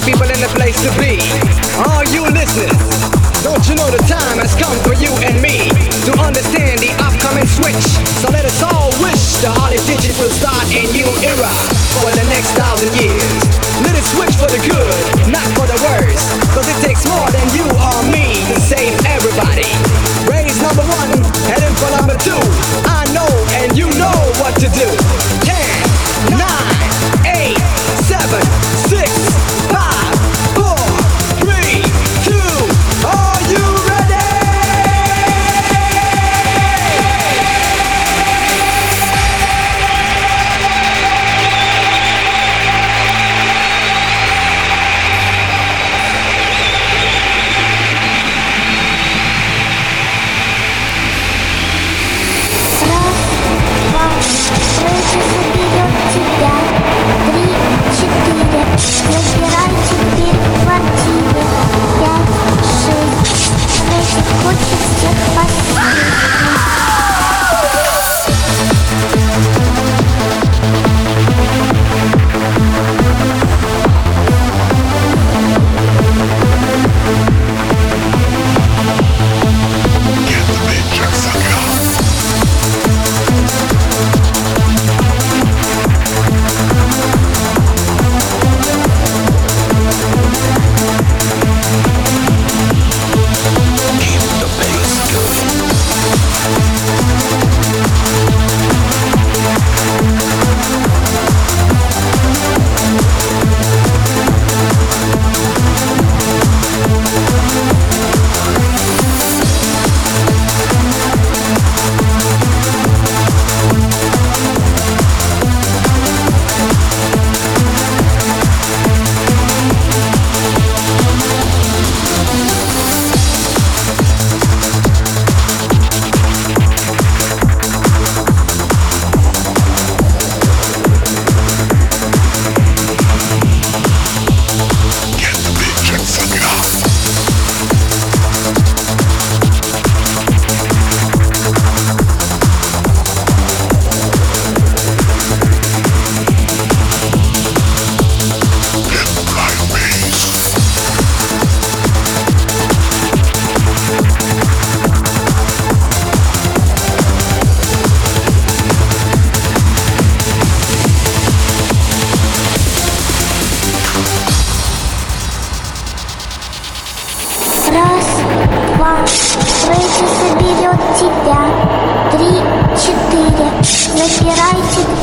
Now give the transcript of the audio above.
people in the place to be. All you listeners, don't you know the time has come for you and me to understand the upcoming switch? So let us all wish the Harley Digit will start a new era for the next 1,000 years. Let it switch for the good, not for the worse, cause it takes more than you or me to save everybody. Raise number 1, heading for number 2. I know and you know what to do. 10, 9, 8, 7, 6, 5, 4, 3, 2, are you ready? Забирай теперь в квартире 5, 6. Рэчик хочет всех посмотреть. Раз, два, Рэчи соберет тебя. 3, 4. Запирайте